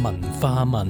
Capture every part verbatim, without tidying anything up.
文化問。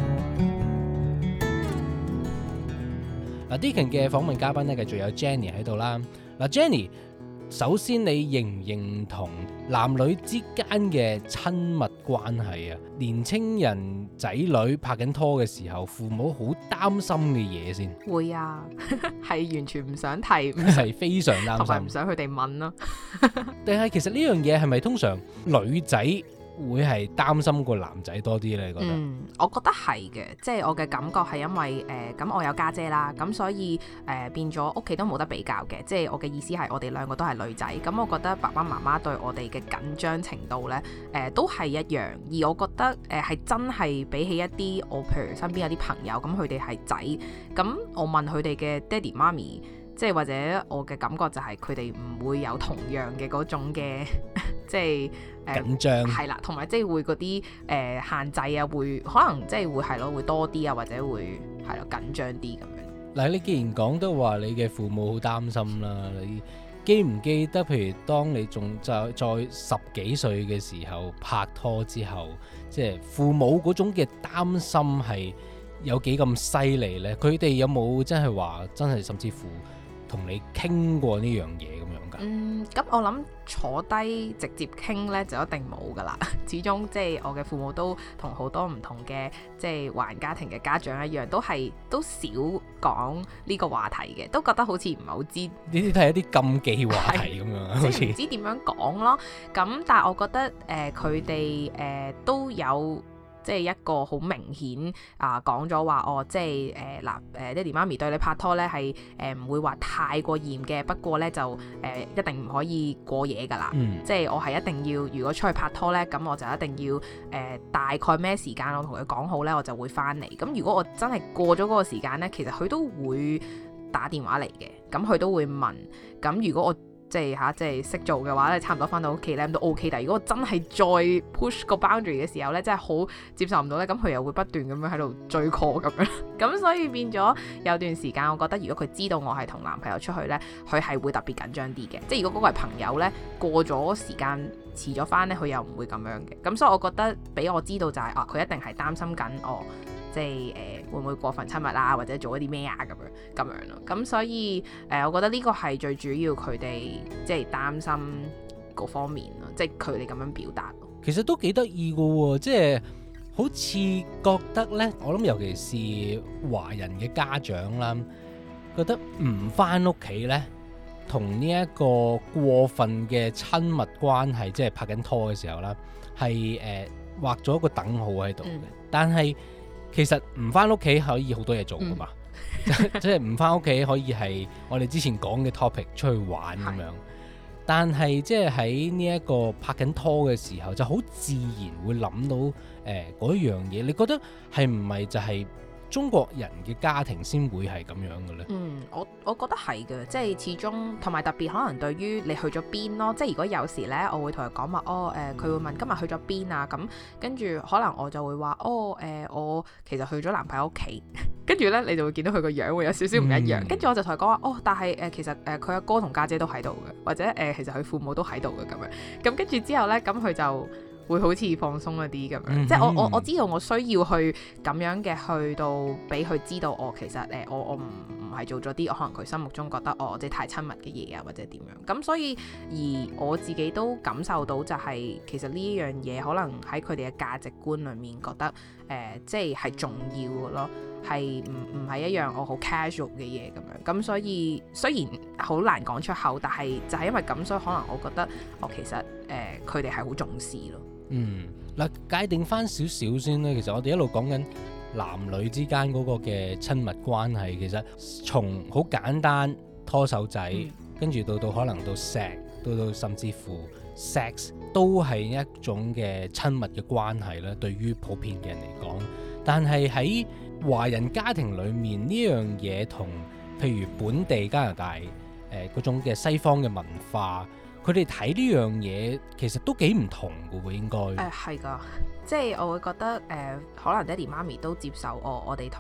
嗱，Deakin嘅訪問嘉賓咧，繼續有 Jenny 喺度啦。嗱，Jenny，首先你認唔認同男女之間嘅親密關係啊？年青人仔女拍緊拖嘅時候，父母好擔心嘅嘢先。 會啊，係完全唔想提， 係非常擔心， 同埋唔想佢哋問咯。 定係其實呢樣嘢係咪通常女仔會係擔心過男仔多啲咧？你覺得？ 嗯，我覺得係嘅，即係我嘅感覺係因為誒咁、呃、我有家姐啦，咁所以誒、呃、變咗屋企都冇得比較嘅，即係我嘅意思係我哋兩個都係女仔，咁我覺得爸爸媽媽對我哋嘅緊張程度咧誒、呃、都係一樣，而我覺得誒係、呃、真係比起一啲我譬如身邊有啲朋友咁佢哋係仔，咁我問佢哋嘅爹哋媽咪。即係或者我嘅感覺就係佢哋唔會有同樣嘅嗰種嘅即係誒、呃、 緊張係啦，同埋即係會嗰啲誒限制啊，會可能即係會係咯，會多啲啊，或者會係咯緊張啲咁樣。 嗱，你既然講得話你嘅父母好擔心啦，你記唔記得譬如當你仲在在十幾歲嘅時候拍拖之後，即係父母嗰種嘅擔心係有幾咁犀利呢？佢哋有冇真係話真係甚至乎同你傾過呢樣嘢咁樣㗎？ 嗯，咁我諗坐低直接傾呢就一定冇㗎啦。始終即係我嘅父母都同好多唔同嘅即係華人家庭嘅家長一樣，都係都少講呢個話題嘅，都覺得好似唔係好知。呢啲都係一啲禁忌話題咁樣，好似唔知點樣講咯。咁但係我覺得誒佢哋誒都有。即係一個好明顯啊，講咗話哦，即係誒嗱誒爹哋媽咪對你拍拖咧係誒唔會話太過嚴嘅，不過咧就誒、呃、一定唔可以過夜㗎啦。嗯、即係我係一定要，如果出去拍拖咧，咁我就一定要誒、呃、大概咩時間我同佢講好咧，我就會翻嚟。咁如果我真係過咗嗰個時間咧，其實佢都會打電話嚟嘅，咁佢都會問。咁如果我即係嚇，即係識做嘅話咧，差唔多翻到屋企咧都 OK。但係如果我真係再 push 個 boundary 嘅時候咧，真係好接受唔到咧，咁佢又會不斷咁樣喺度追 call 咁樣。咁所以變咗有段時間，我覺得如果佢知道我係同男朋友出去咧，佢係會特別緊張啲嘅。即係如果嗰個係朋友咧，過咗時間遲咗翻咧，佢又唔會咁樣嘅。咁所以我覺得俾我知道就係、是、啊，佢一定係擔心緊我。即係誒、呃、會唔會過分親密啊，或者做一啲咩啊咁樣咁樣咯。咁所以誒、呃，我覺得呢個係最主要佢哋即係擔心嗰方面咯，即係佢哋咁樣表達。 其實都幾得意㗎喎，即係好似覺得咧，我諗尤其是華人嘅家長啦，覺得唔返屋企咧，同呢一個過分嘅親密關係，即係拍緊拖嘅時候啦，係誒、呃、畫咗一個等號喺度嘅，嗯、但係。其實唔返屋企可以好多嘢做㗎嘛，嗯、即係唔返屋企可以係我哋之前講嘅 topic 出去玩咁樣，是但係即係喺呢一個拍緊拖嘅時候，就好自然會諗到誒嗰、呃、一樣嘢。你覺得係唔係就係中國人嘅家庭先會係咁樣嘅咧？ 嗯，我我覺得係嘅，即係始終同埋特別可能對於你去咗邊咯，即係如果有時咧，我會同佢講話，哦誒，佢、呃、會問今日去咗邊啊，咁跟住可能我就會話，哦誒、呃，我其實去咗男朋友屋企，跟住咧你就會見到佢個樣會有少少唔一樣，跟住、嗯、我就同佢講話，哦，但係誒、呃、其實誒佢阿哥同家姐都喺度嘅，或者誒、呃、其實佢父母都喺度嘅咁樣，咁跟住之後咧，咁佢就會好似放鬆一啲咁樣，嗯、哼即係我我我知道我需要去咁樣嘅去到俾佢知道，我其實誒、呃、我我唔唔係做咗啲可能佢心目中覺得我即係太親密嘅嘢啊，或者點樣咁，所以而我自己都感受到就係、是、其實呢一樣嘢可能喺佢哋嘅價值觀裡面覺得誒、呃、即係係重要嘅咯，係唔唔係一樣我好 casual 嘅嘢咁樣，咁所以雖然好難講出口，但係就係因為咁，所以可能我覺得我其實誒佢哋係好重視咯。 嗯，嗱，界定翻少少先咧。其實我哋一路講緊男女之間嗰個嘅親密關係，其實從好簡單拖手仔，嗯、跟住到到可能到錫，到到甚至乎 sex 都係一種嘅親密嘅關係啦。對於普遍嘅人嚟講，但係喺華人家庭裡面呢樣嘢同譬如本地加拿大誒嗰、呃、種嘅西方嘅文化。佢哋睇呢樣嘢其實都幾唔同嘅喎，應該誒係㗎，即係我會覺得誒、呃，可能爹哋媽咪都接受我，我哋同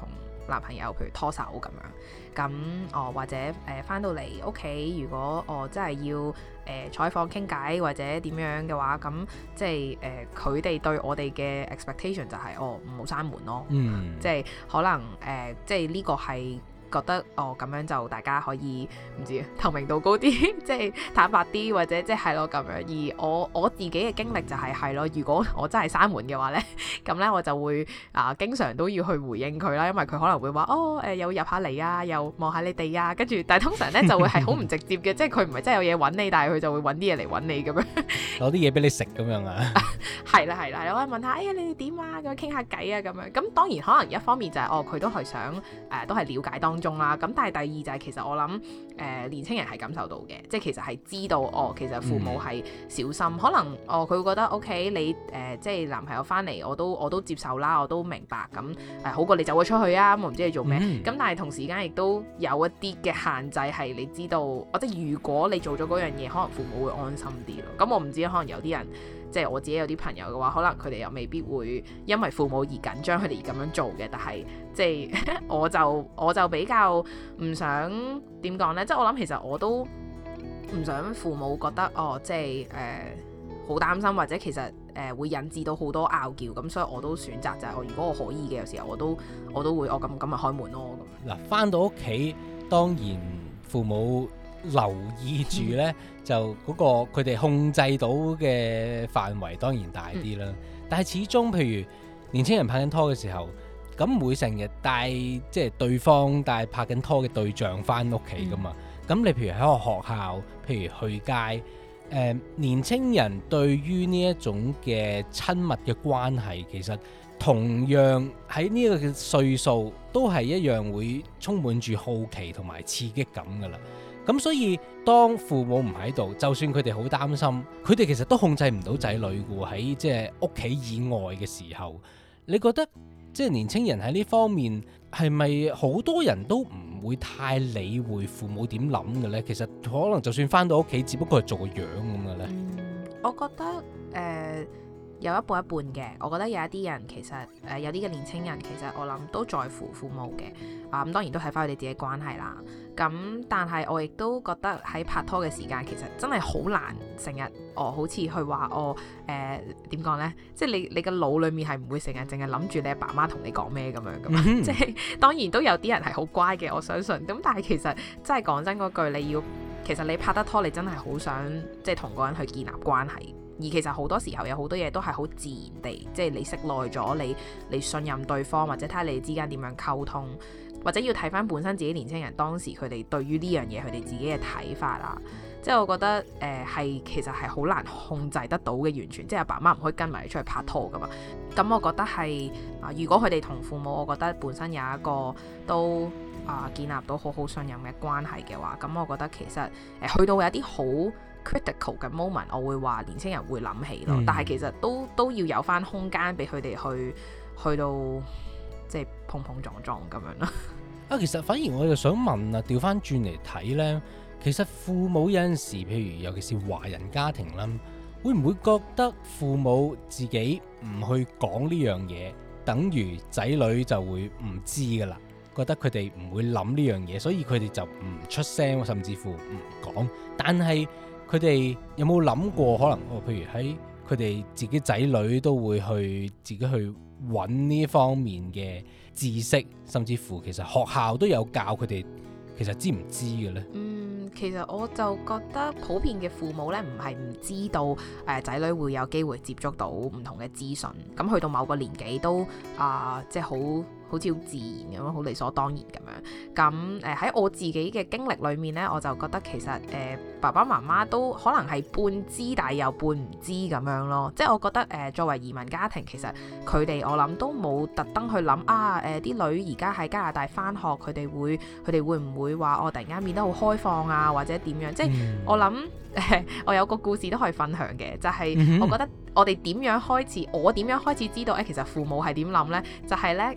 男朋友譬如拖手咁樣，咁哦或者誒翻、呃、到嚟屋企，如果我真係要誒、呃、坐喺房傾偈或者點樣嘅話，咁即係誒佢哋對我哋嘅 expectation 就係、是、哦唔好閂門咯， 嗯， 即係可能誒、呃、即係呢個係。覺得哦咁樣就大家可以唔知透明度高啲，即係坦白啲，或者即係咯咁樣。而我我自己嘅經歷就係係咯，如果我真係閂門嘅話咧，咁咧我就會啊經常都要去回應佢啦，因為佢可能會話哦誒、呃、又入下嚟啊，又望下你哋啊，跟住但係通常咧就會係好唔直接嘅，即係佢唔係真係有嘢揾你，但係佢就會揾啲嘢嚟揾你咁樣， 攞啲嘢俾你食咁樣啊。 係啦係啦，我可以問下哎呀你哋點啊，咁樣傾下偈啊咁樣。咁當然可能一方面就係、是、哦佢都係想誒、呃、都係了解當中啦。咁但係第二就係其實我諗誒、呃、年青人係感受到嘅，即係其實係知道哦，其實父母係小心，嗯、可能哦佢會覺得 OK 你誒、呃、即係男朋友翻嚟我都我都接受啦，我都明白咁誒、呃、好過你走咗出去啊，我唔知你做咩。咁、嗯、但係同時間亦都有一啲嘅限制係你知道，或者如果你做咗嗰樣嘢，可能父母會安心啲咯。咁我唔知可能有啲人。即係我自己有啲朋友嘅話，可能佢哋又未必會因為父母而緊張佢哋而咁樣做嘅。但係即係我就我就比較唔想點講呢？即係我諗其實我都唔想父母覺得哦，即係誒好擔心，或者其實誒、呃、會引致到好多拗撬咁，所以我都選擇就係、是、我如果我可以嘅，有時候我都我都會我咁咁咪開門咯咁。嗱， 返到屋企當然父母留意住呢，嗯、就嗰個佢哋控制到嘅範圍當然大啲啦。嗯、但係始終譬如年青人拍緊拖嘅時候，咁唔會成日帶即係對方帶拍緊拖嘅對象翻屋企噶嘛。咁、嗯、你譬如喺個學校，譬如去街，誒、呃、年青人對於呢一種嘅親密嘅關係，其實同樣喺呢個嘅歲數都係一樣會充滿住好奇同埋刺激感噶啦。咁所以當父母唔喺度，就算佢哋好擔心，佢哋其實都控制唔到仔女嘅喎。喺即係屋企以外嘅時候，你覺得即係年青人喺呢方面係咪好多人都唔會太理會父母點諗嘅呢？其實可能就算返到屋企，只不過係做個樣咁嘅呢。 嗯，我覺得誒、呃、有一半一半嘅。我覺得有一啲人其實誒、呃、有啲嘅年青人其實我諗都在乎父母嘅。啊咁當然都睇返佢哋自己關係啦。咁但係我亦都覺得喺拍拖嘅時間，其實真係好難成日哦，好似去話哦誒點講呢？即係你你個腦裡面係唔會成日淨係諗住你阿爸媽同你講咩咁樣噶嘛？嗯、即係當然都有啲人係好乖嘅，我相信。咁但係其實真係講真嗰句，你要其實你拍得拖，你真係好想即係同個人去建立關係。而其實好多時候有好多嘢都係好自然地，即係你識耐咗，你你信任對方，或者睇下你哋之間點樣溝通。或者要睇翻本身自己年青人當時佢哋對於呢樣嘢佢哋自己嘅睇法啦，即係我覺得誒係、呃、其實係好難控制得到嘅，完全即係阿爸媽唔可以跟埋你出去拍拖噶嘛。咁我覺得係啊、呃，如果佢哋同父母，我覺得本身有一個都啊、呃、建立到好好信任嘅關係嘅話，咁我覺得其實誒、呃、去到有啲好 critical 嘅 moment，我會話年青人會諗起咯。嗯、但係其實都都要有翻空間俾佢哋去去到即係碰碰撞撞咁樣咯。 啊，其實反而我又想問啊，調翻轉嚟睇呢，其實父母有陣時，譬如尤其是華人家庭啦，會唔會覺得父母自己唔去講呢樣嘢，等於仔女就會唔知噶啦？覺得佢哋唔會諗呢樣嘢，所以佢哋就唔出聲，甚至乎唔講。但係佢哋有冇諗過，可能哦，譬如喺佢哋自己仔女都會去自己去揾呢方面嘅知識，甚至乎其實學校都有教佢哋，其實知唔知嘅呢？嗯， 其實我就覺得普遍嘅父母呢，唔係唔知道誒仔女會有機會接觸到唔同嘅資訊，咁去到某個年紀都啊、呃，即係好。好似好自然咁樣，好理所當然咁樣。咁誒喺我自己嘅經歷裏面呢，我就覺得其實誒、呃、爸爸媽媽都可能係半知，但係又半唔知咁樣咯。即係我覺得誒、呃、作為移民家庭，其實佢哋我諗都冇特登去諗啊誒啲、呃、女而家喺加拿大返學，佢哋會佢哋會唔會話我、哦、突然間變得好開放啊，或者點樣？即係、嗯、我諗誒、呃、我有個故事都可以分享嘅，就係、是、我覺得我哋點樣開始，我點樣開始知道誒、呃、其實父母係點諗呢？就係、是、呢，誒、呃、我記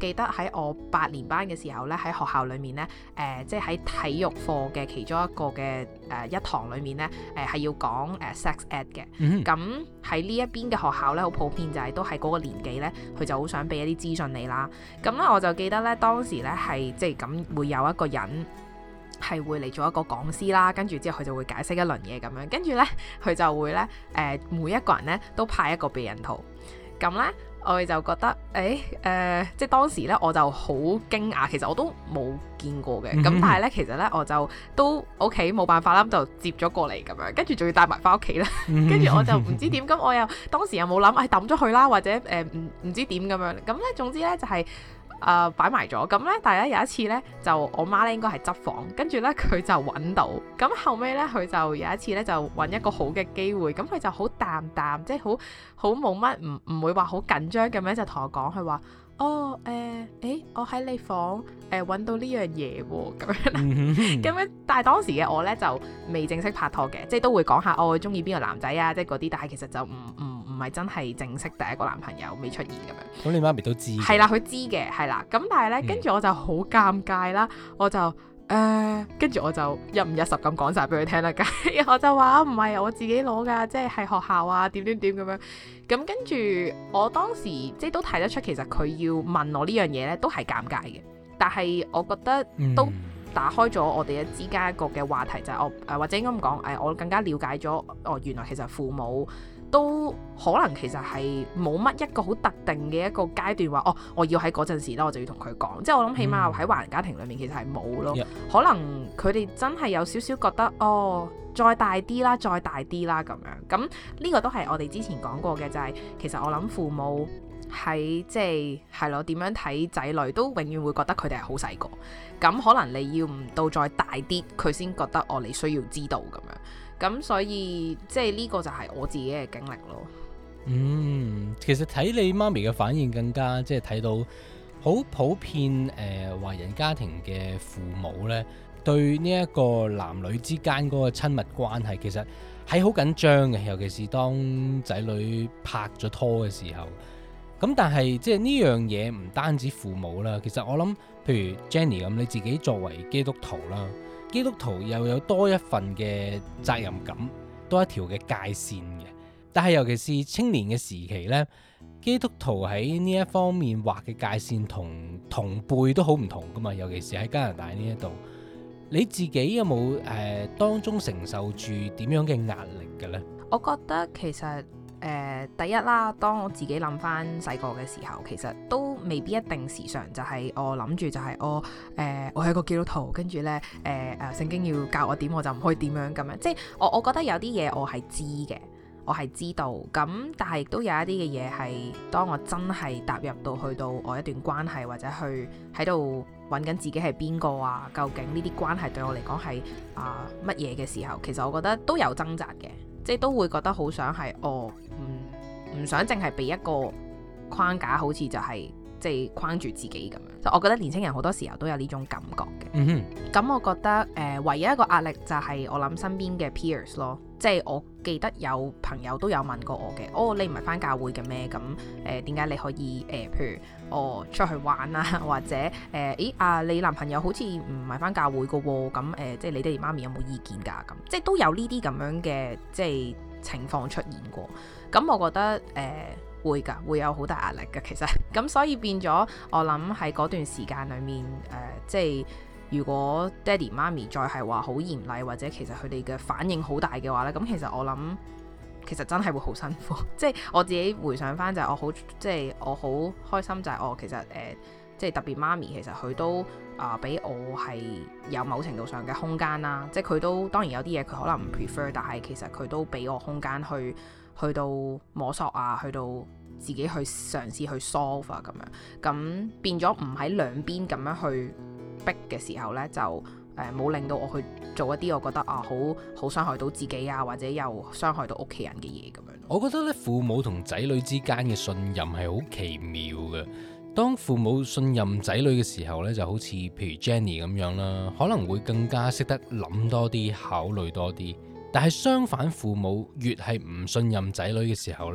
記得喺我八年班嘅時候咧，喺學校裏面咧，誒、呃、即係喺體育課嘅其中一個嘅誒、呃、一堂裏面咧，誒、呃、係要講誒、呃、sex ed 嘅。咁喺呢一邊嘅學校咧，好普遍就係都係嗰個年紀咧，佢就好想俾一啲資訊你啦。咁咧我就記得咧，當時咧係即係咁會有一個人係會嚟做一個講師啦，跟住之後佢就會解釋一輪嘢咁樣，跟住咧佢就會咧誒、呃、每一個人咧都派一個避孕套，咁咧。我哋就覺得，誒、欸，誒、呃，即係當時咧，我就好驚訝，其實我都冇見過嘅，咁、嗯、但係咧，其實咧，我就都屋企冇辦法啦，就接咗過嚟咁樣，跟住仲要帶埋翻屋企啦，跟住我就唔知點，咁我又當時又冇諗，誒抌咗佢啦，或者誒唔唔知點咁樣，咁咧總之咧就係、是。誒擺埋咗，咁咧，但係咧有一次咧，就我媽咧應該係執房，跟住咧佢就揾到，咁後尾咧佢就有一次咧就揾一個好嘅機會，咁佢就好淡淡，即係好好冇乜，唔唔會話好緊張咁樣就同我講，佢話哦誒，誒、呃欸、我喺你房誒揾、呃、到呢樣嘢喎，咁樣，咁樣，但係當時嘅我咧就未正式拍拖嘅，即係都會講下我中意邊個男仔啊，即係嗰啲，但係其實就唔唔。唔係真係正式第一個男朋友未出現咁樣， 咁你媽咪都知， 係啦，佢知嘅，係啦，咁但係咧，跟住我就好尷尬啦，我就誒，跟住我就一五一十咁講晒俾佢聽啦，我就話唔係我自己攞噶，即係係學校啊，點點點咁樣，咁跟住我當時即係都睇得出，其實佢要問我呢樣嘢咧，都係尷尬嘅，但係我覺得都打開咗我哋嘅之間一個嘅話題，就係、是、我誒、呃、或者應該咁講，誒我更加了解咗，哦原來其實父母。都可能其實係冇乜一個好特定嘅一個階段話，哦，我要喺嗰陣時咧，我就要同佢講。即係我諗，起碼喺華人家庭裏面其實係冇咯。嗯、可能佢哋真係有少少覺得，哦，再大啲啦，再大啲啦咁樣。咁呢個都係我哋之前講過嘅，就係、是、其實我諗父母喺即係係咯點樣睇仔女，都永遠會覺得佢哋係好細個。咁可能你要唔到再大啲，佢先覺得哦，你需要知道咁樣。咁所以即係呢個就係我自己嘅經歷咯。 嗯，其實睇你媽咪嘅反應更加即係睇到好普遍誒、呃、華人家庭嘅父母呢，對呢一個男女之間嗰個親密關係其實係好緊張嘅，尤其是當仔女拍咗拖嘅時候。咁但係即係呢樣嘢唔單止父母啦，其實我諗譬如 Jenny 咁，你自己作為基督徒啦。基督徒又有多一份嘅責任感，多一條嘅界線嘅。但係尤其是青年嘅時期呢，基督徒喺呢一方面劃嘅界線同同輩都好唔同噶嘛。尤其是喺加拿大呢一度，你自己有冇誒、呃、當中承受住點樣嘅壓力嘅呢？ 我覺得其實。誒、呃、第一啦，當我自己諗翻細個嘅時候，其實都未必一定時常就係我諗住就係我誒我係一個基督徒，跟住咧誒誒聖經要教我點，我就唔可以點樣咁樣。即係我我覺得有啲嘢我係知嘅，我係知道。咁但係亦都有一啲嘅嘢係當我真係踏入到去到我一段關係，或者去喺度揾緊自己係邊個啊？究竟呢啲關係對我嚟講係啊乜嘢嘅時候，其實我覺得都有掙扎嘅。即係都會覺得好想係，哦，唔唔想淨係俾一個框架，好似就係、是、即係框住自己咁樣。我覺得年輕人好多時候都有呢種感覺嘅。嗯哼。咁我覺得誒、呃，唯一一個壓力就係我諗身邊嘅 peers 咯。即係我記得有朋友都有問過我嘅，哦，你唔係返教會嘅咩？咁誒點解你可以誒、呃，譬如我、哦、出去玩啊，或者誒，咦、呃、啊，你男朋友好似唔係返教會嘅喎？咁誒、呃，即係你爹哋媽咪有冇意見㗎？咁即係都有呢啲咁樣嘅即係情況出現過。咁我覺得誒、呃、會㗎，會有好大壓力㗎。其實咁所以變咗，我諗喺嗰段時間裡面誒、呃，即係。如果爹哋媽咪再係話好嚴厲，或者其實佢哋嘅反應好大嘅話咧，咁其實我諗其實真係會好辛苦。即係我自己回想翻就係我好即係我好開心就係我其實誒、呃、即係特別媽咪其實佢都啊俾、呃、我係有某程度上嘅空間啦。即係佢都當然有啲嘢佢可能唔 prefer，但係其實佢都俾我空間去去到摸索啊，去到自己去嘗試去 solve 啊咁樣。咁變咗唔喺兩邊咁樣去逼嘅時候呢，就誒冇、呃、令到我去做一啲我覺得啊好好傷害到自己啊，或者又傷害到屋企人嘅嘢咁樣。 我覺得咧，父母同仔女之間嘅信任係好奇妙嘅。當父母信任仔女嘅時候呢，就好似譬如 Jenny 咁樣啦，可能會更加識得諗多啲，考慮多啲。但係相反，父母越係唔信任仔女嘅時候呢，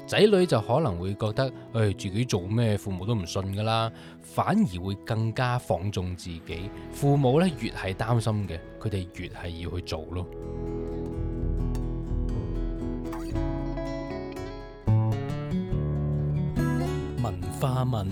仔女就可能會覺得，誒、哎、自己做咩父母都唔信㗎啦，反而會更加放縱自己。父母咧越係擔心嘅，佢哋越係要去做咯。文化問，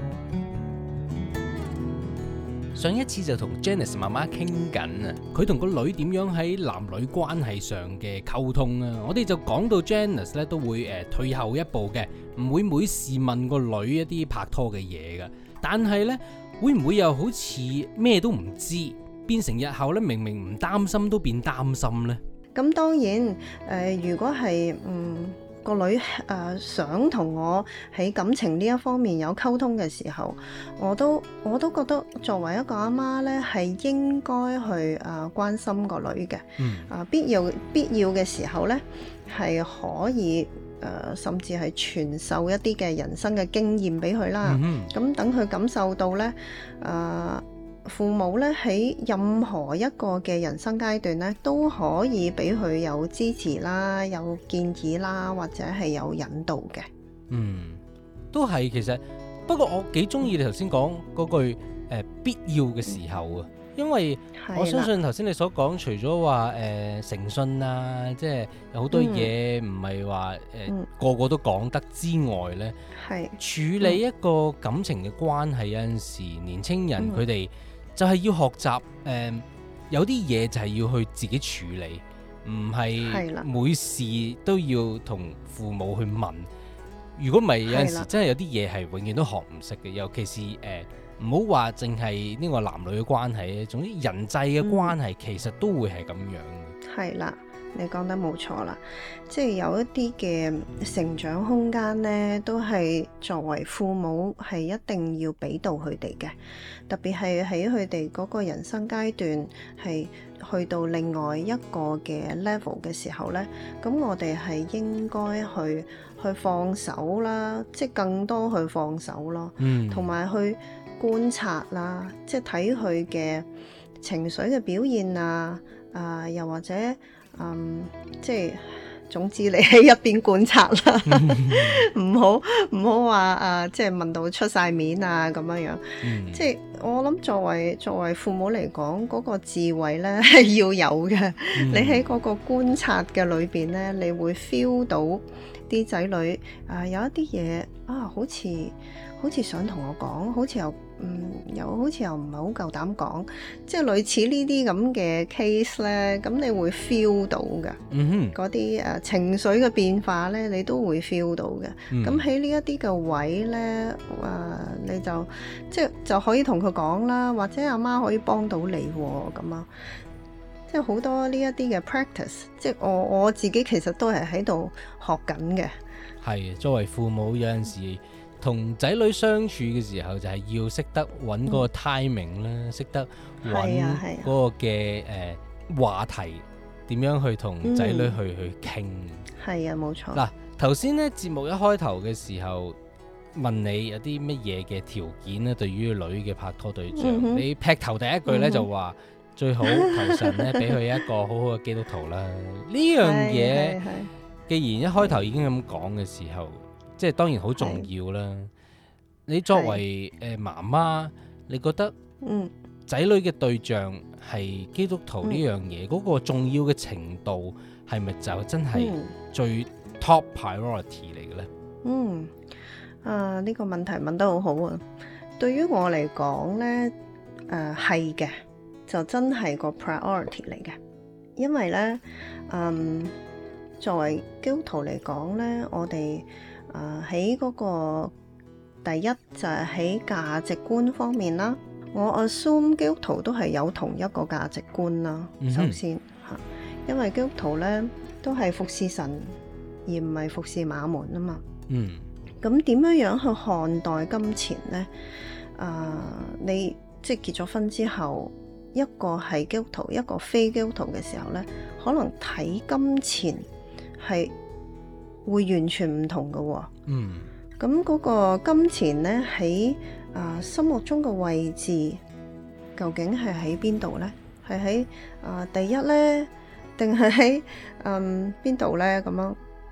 上一次就同 Janice 媽媽傾緊啊，佢同個女點樣喺男女關係上嘅溝通啊。我哋就講到 Janice 咧都會誒、呃、退後一步嘅，唔會每事問個女一啲拍拖嘅嘢㗎。但係呢，會唔會又好似咩都唔知，變成日後咧明明唔擔心都變擔心呢？ 咁當然誒、呃，如果係嗯。個女誒、呃、想同我喺感情呢一方面有溝通嘅時候，我都我都覺得作為一個阿媽咧，係應該去誒、呃、關心個女嘅。 嗯。 啊、呃，必要必要嘅時候咧，係可以誒、呃，甚至係傳授一啲嘅人生嘅經驗俾佢啦。咁等佢感受到咧，誒、呃。父母咧喺任何一個嘅人生階段咧，都可以俾佢有支持啦，有建議啦，或者係有引導嘅。 嗯，都係其實，不過我幾中意你頭先講嗰句誒、呃、必要嘅時候啊，因為我相信頭先你所講，除咗話誒誠信啊，即係有好多嘢唔係話誒個個都講得之外咧，係、嗯、處理一個感情嘅關係，有陣時年青人佢哋、嗯。就係要學習誒、呃，有啲嘢就係要去自己處理，唔係每事都要同父母去問。如果唔係，有陣時真係有啲嘢係永遠都學唔識嘅。尤其是誒，唔好話淨係呢個男女嘅關係，總之人際嘅關係、嗯、其實都會係咁樣嘅。係啦。你講得冇錯啦，即係有一啲嘅成長空間呢，都係作為父母係一定要俾到佢哋嘅，特別係喺佢哋嗰個人生階段係去到另外一個嘅 level 嘅時候呢，咁我哋係應該去去放手啦，即係更多去放手咯，嗯，同埋去觀察啦，即係睇佢嘅情緒嘅表現啊，啊、呃，又或者。嗯，即係總之你喺一邊觀察啦，唔好唔好話誒，即係問到出晒面啊咁樣樣。嗯、即係我諗作為作為父母嚟講，嗰、嗰個智慧咧係要有嘅。嗯、你喺嗰個觀察嘅裏邊咧，你會 feel 到啲仔女啊、呃、有一啲嘢啊，好似好似想同我講，好似又。嗯，又好似又唔係好夠膽講，即係類似呢啲咁嘅 case 咧，咁你會 feel 到嘅，嗰啲誒情緒嘅變化咧，你都會 feel 到嘅。咁喺呢一啲嘅位咧，誒、呃、你就即係就可以同佢講啦，或者阿媽可以幫到你咁啊，即係好多呢一啲嘅 practice，即係我我自己其實都係喺度學緊嘅。係，作為父母有陣時。同仔女相處嘅時候，就係要識得揾嗰個 timing 啦，識、嗯、得揾嗰個嘅誒、呃、話題，點樣去同仔女去、嗯、去傾。係啊，冇錯。嗱，頭先咧節目一開頭嘅時候問你有啲乜嘢嘅條件咧，對於女嘅拍拖對象，嗯、你劈頭第一句咧、嗯、就話最好求神咧俾佢一個好好嘅基督徒啦。呢樣嘢，既然一開頭已經咁講嘅時候。即係當然好重要啦。你作為誒媽媽，你覺得仔女嘅對象係基督徒呢樣嘢，嗰、嗯、個重要嘅程度係咪就真係最 top priority 嚟嘅咧？嗯，啊呢、呢個問題問得好好啊！對於我嚟講咧，誒係嘅，就真係個 priority 嚟嘅，因為咧，嗯，作為基督徒嚟講咧，我哋啊！喺嗰、uh, 個第一就係喺價值觀方面啦，我 assume 基督徒都係有同一個價值觀啦。Mm-hmm. 首先嚇，因為基督徒咧都係服侍神，而唔係服侍馬門啊嘛。嗯。咁點樣樣去看待金錢咧？啊、uh, 你即係結咗婚之後，一個係基督徒，一個非基督徒嘅時候咧，可能睇金錢係會完全唔同嘅喎、哦，嗯，咁嗰個金錢咧喺啊心目中嘅位置，究竟係喺邊度咧？係喺啊第一咧，定係喺嗯邊度咧？咁樣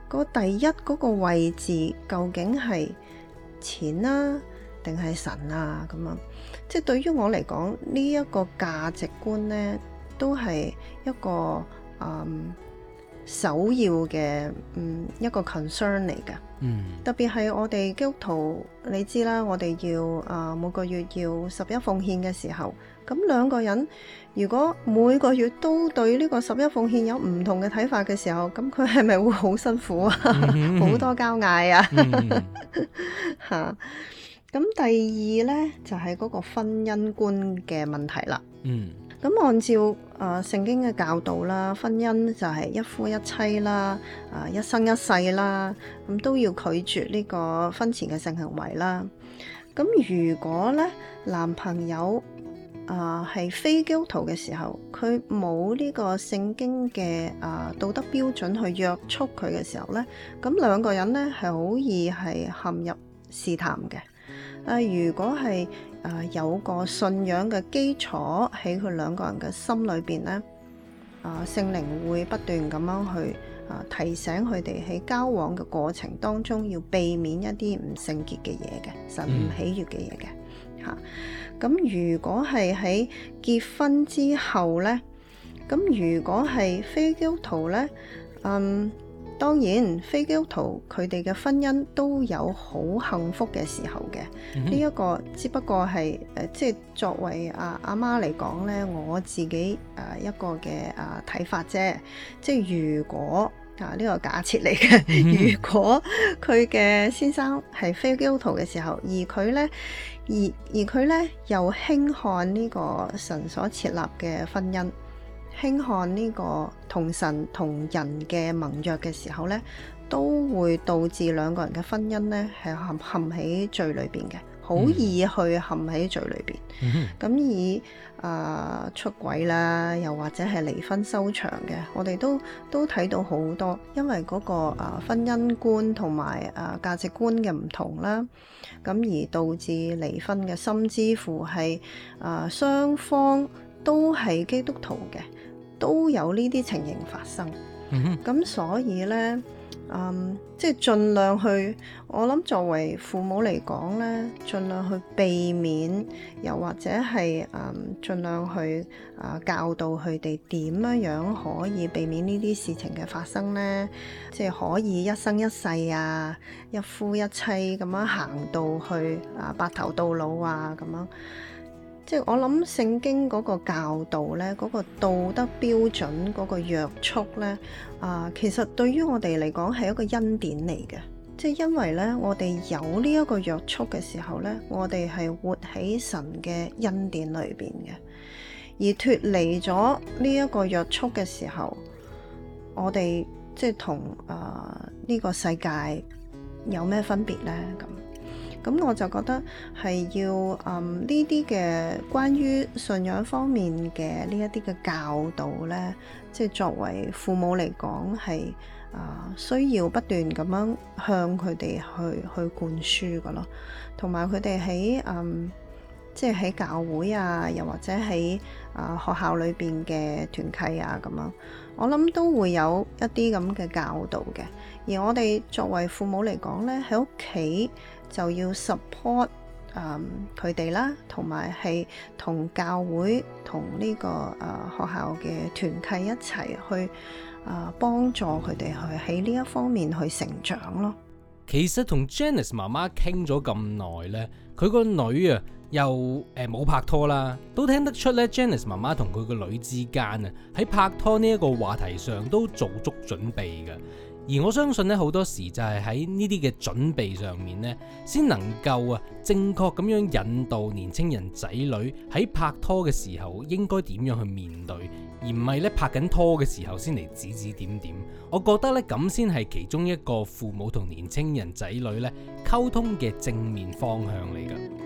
個第一嗰個位置究竟係錢啊定係神啊咁啊？即係對於我嚟講，呢一個價值觀呢，都係一個嗯首要嘅嗯一個 concern 嚟嘅。嗯，特別係我哋基督徒，你知啦，我哋要啊、呃、每個月要十一奉獻嘅時候，咁兩個人如果每個月都對呢個十一奉獻有唔同嘅睇法嘅時候，咁佢係咪會好辛苦啊？好、嗯、多交嗌啊！嚇，咁第二呢，就係、是、嗰個婚姻觀嘅問題啦。嗯。咁按照誒、呃、聖經嘅教導啦，婚姻就係一夫一妻啦，啊、呃、一生一世啦，咁、嗯、都要拒絕呢個婚前嘅性行為啦。咁如果咧男朋友啊係、呃、非基督徒嘅時候，佢冇呢個聖經嘅啊、呃、道德標準去約束佢嘅時候咧，咁兩個人咧係好易係陷入試探嘅。啊、呃，如果係啊、呃，有個信仰嘅基礎喺佢兩個人嘅心裏邊咧，啊、呃，聖靈會不斷咁樣去啊、呃、提醒佢哋喺交往嘅過程當中要避免一啲唔聖潔嘅嘢嘅，神唔喜悅嘅嘢嘅嚇。咁、嗯啊、如果係喺結婚之後咧，咁如果係非基督徒咧，嗯。當然，非基督徒佢哋嘅婚姻都有好幸福嘅時候嘅。呢一、嗯、哼個只不過係誒、呃，即係作為阿阿媽嚟講咧，我自己誒、呃、一個嘅啊睇法啫。即係如果啊呢、這個假設嚟嘅，嗯、哼如果佢嘅先生係非基督徒嘅時候，而佢咧而而佢咧又輕看呢個神所設立嘅婚姻，輕看呢個同神同人嘅盟約嘅時候呢，都會導致兩個人嘅婚姻呢係陷陷喺罪裏邊嘅，好易去陷喺罪裏邊。咁、嗯、以啊、呃、出軌啦，又或者係離婚收場嘅，我哋都都睇到好多，因為嗰、那個啊、呃、婚姻觀同埋啊價值觀嘅唔同啦，咁而導致離婚嘅，甚至乎係啊雙方都係基督徒嘅。都有呢啲情形發生，咁、嗯、哼所以呢，嗯，即係盡量去，我諗作為父母嚟講呢，盡量去避免，又或者係嗯，盡量去啊、呃、教導佢哋點樣樣可以避免呢啲事情嘅發生呢？即係可以一生一世啊，一夫一妻咁樣行到去啊白頭到老啊咁樣。即係我諗聖經嗰個教導呢，嗰、嗰個道德標準嗰個約束呢，啊、呃，其實對於我哋嚟講係一個恩典嚟嘅。即係因為呢，我哋有呢一個約束嘅時候呢，我哋係活喺神嘅恩典裏邊嘅。而脫離咗呢一個約束嘅時候，我哋即係同啊呢個世界有咩分別呢？咁。咁我就覺得係要嗯呢啲嘅關於信仰方面嘅呢一啲嘅教導呢，即係作為父母嚟講係啊需要不斷咁樣向佢哋去去灌輸㗎咯，同埋佢哋喺嗯即係喺教會啊，又或者喺啊學校裏邊嘅團契啊咁樣，我諗都會有一啲咁嘅教導嘅。而我哋作為父母嚟講呢，喺屋企就要 support 佢哋啦，同埋係同教會同呢、這個誒、呃、學校嘅團契一齊去誒、呃、幫助佢哋去喺呢一方面去成長咯。 其實同 Janice 媽媽傾咗咁耐呢，佢個女啊又誒冇、呃、拍拖啦，都聽得出咧 Janice 媽媽同佢個女之間啊喺拍拖呢一個話題上都做足準備嘅。而我相信咧，好多時就係喺呢啲嘅準備上面咧，先能夠啊正確咁樣引導年青人仔女喺拍拖嘅時候應該點樣去面對，而唔係咧拍緊拖嘅時候先嚟指指點點。我覺得咧咁先係其中一個父母同年青人仔女咧溝通嘅正面方向嚟㗎。